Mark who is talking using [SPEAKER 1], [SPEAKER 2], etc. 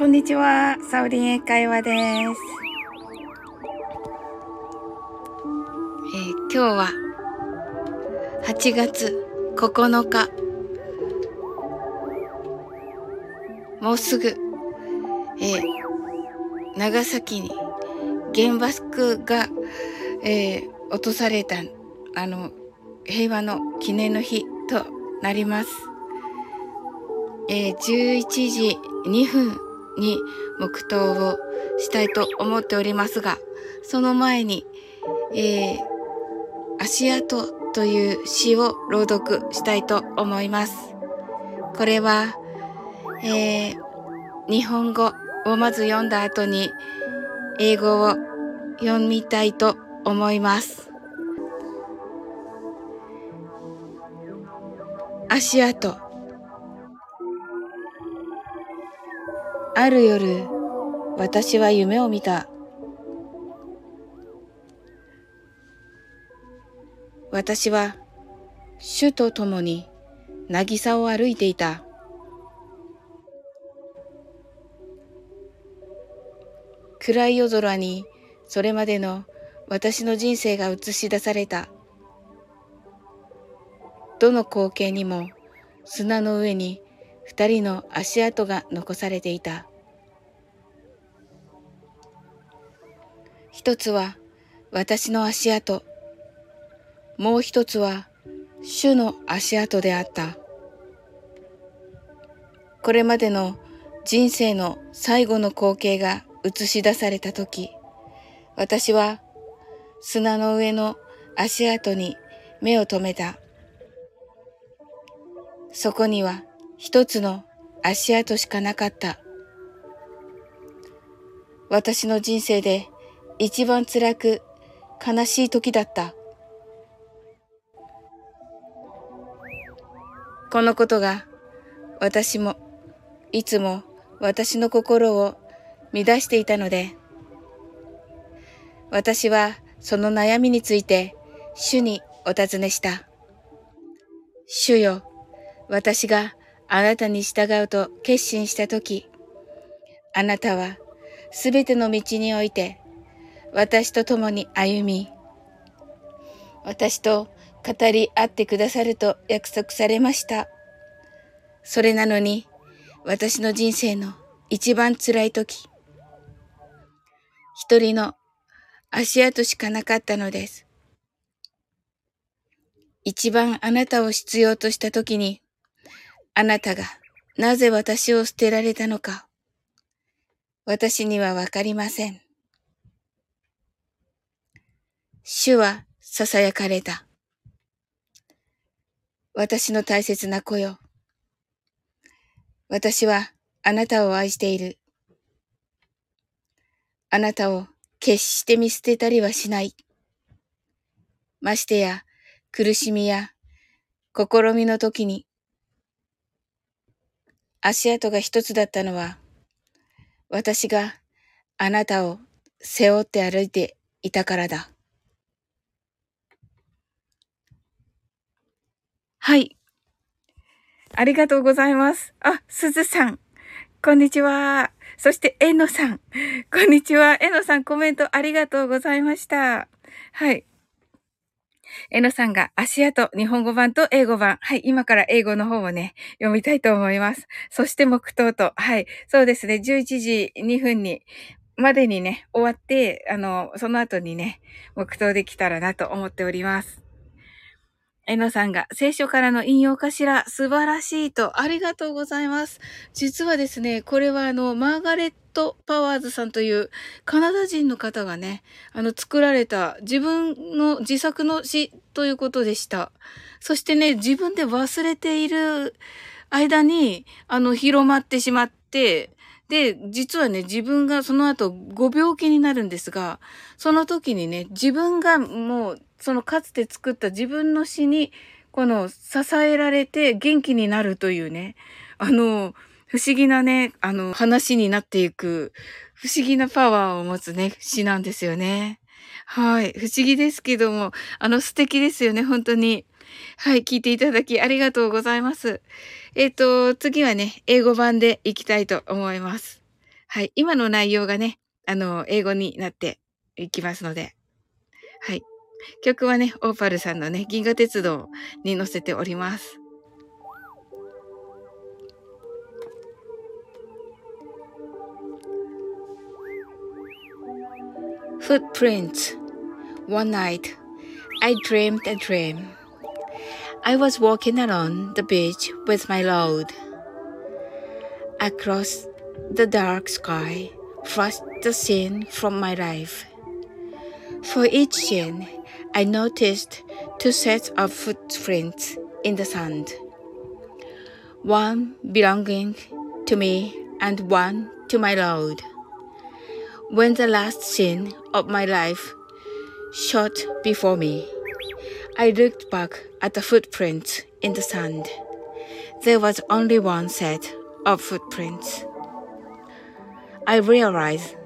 [SPEAKER 1] こんにちは、サオリン英会話です。今日は8月9日。もうすぐ、長崎に原爆が、落とされた、平和の記念の日となります。11時2分に黙祷をしたいと思っておりますが、その前に、足跡という詩を朗読したいと思います。これは、日本語をまず読んだ後に英語を読みたいと思います。足跡。ある夜、私は夢を見た。私は主と共に渚を歩いていた。暗い夜空にそれまでの私の人生が映し出された。どの光景にも砂の上に二人の足跡が残されていた。一つは私の足跡、もう一つは主の足跡であった。これまでの人生の最後の光景が映し出されたとき、私は砂の上の足跡に目を留めた。そこには一つの足跡しかなかった。私の人生で一番辛く悲しい時だった。このことがいつも私の心を乱していたので、私はその悩みについて主にお尋ねした。主よ、私があなたに従うと決心したとき、あなたはすべての道において私と共に歩み、私と語り合ってくださると約束されました。それなのに、私の人生の一番辛いとき、一人の足跡しかなかったのです。一番あなたを必要としたときに、あなたがなぜ私を捨てられたのか、私にはわかりません。主は囁かれた。私の大切な子よ。私はあなたを愛している。あなたを決して見捨てたりはしない。ましてや苦しみや試みの時に足跡が一つだったのは、私があなたを背負って歩いていたからだ。はい。ありがとうございます。あ、すずさん。こんにちは。そして、えのさん。こんにちは。えのさん、コメントありがとうございました。はい。えのさんが足跡、日本語版と英語版。はい。今から英語の方をね、読みたいと思います。そして、黙祷と。はい。そうですね。11時2分までにね、終わって、その後にね、黙祷できたらなと思っております。えのさんが聖書からの引用かしら、素晴らしいと、ありがとうございます。実はですね、これはマーガレット・パワーズさんというカナダ人の方がね、作られた自分の自作の詩ということでした。そしてね、自分で忘れている間に、広まってしまって、で、実はね、自分がその後ご病気になるんですが、その時にね、自分がもう、そのかつて作った自分の詩に、支えられて元気になるというね、不思議なね、話になっていく、不思議なパワーを持つね、詩なんですよね。はい。不思議ですけども、素敵ですよね、本当に。はい。聞いていただきありがとうございます。次はね、英語版でいきたいと思います。 はい。今の内容がね、英語になっていきますので。はい。曲はね、オーパルさんのね、銀河鉄道に載せております。Footprints. One night, I dreamed a dream. I was walking along the beach with my load. Across the dark sky flashed the scene from my life. For each scene, I noticed two sets of footprints in the sand. One belonging to me and one to my load. When the last scene of my life shot before me, I looked back at the footprints in the sand. There was only one set of footprints. I realized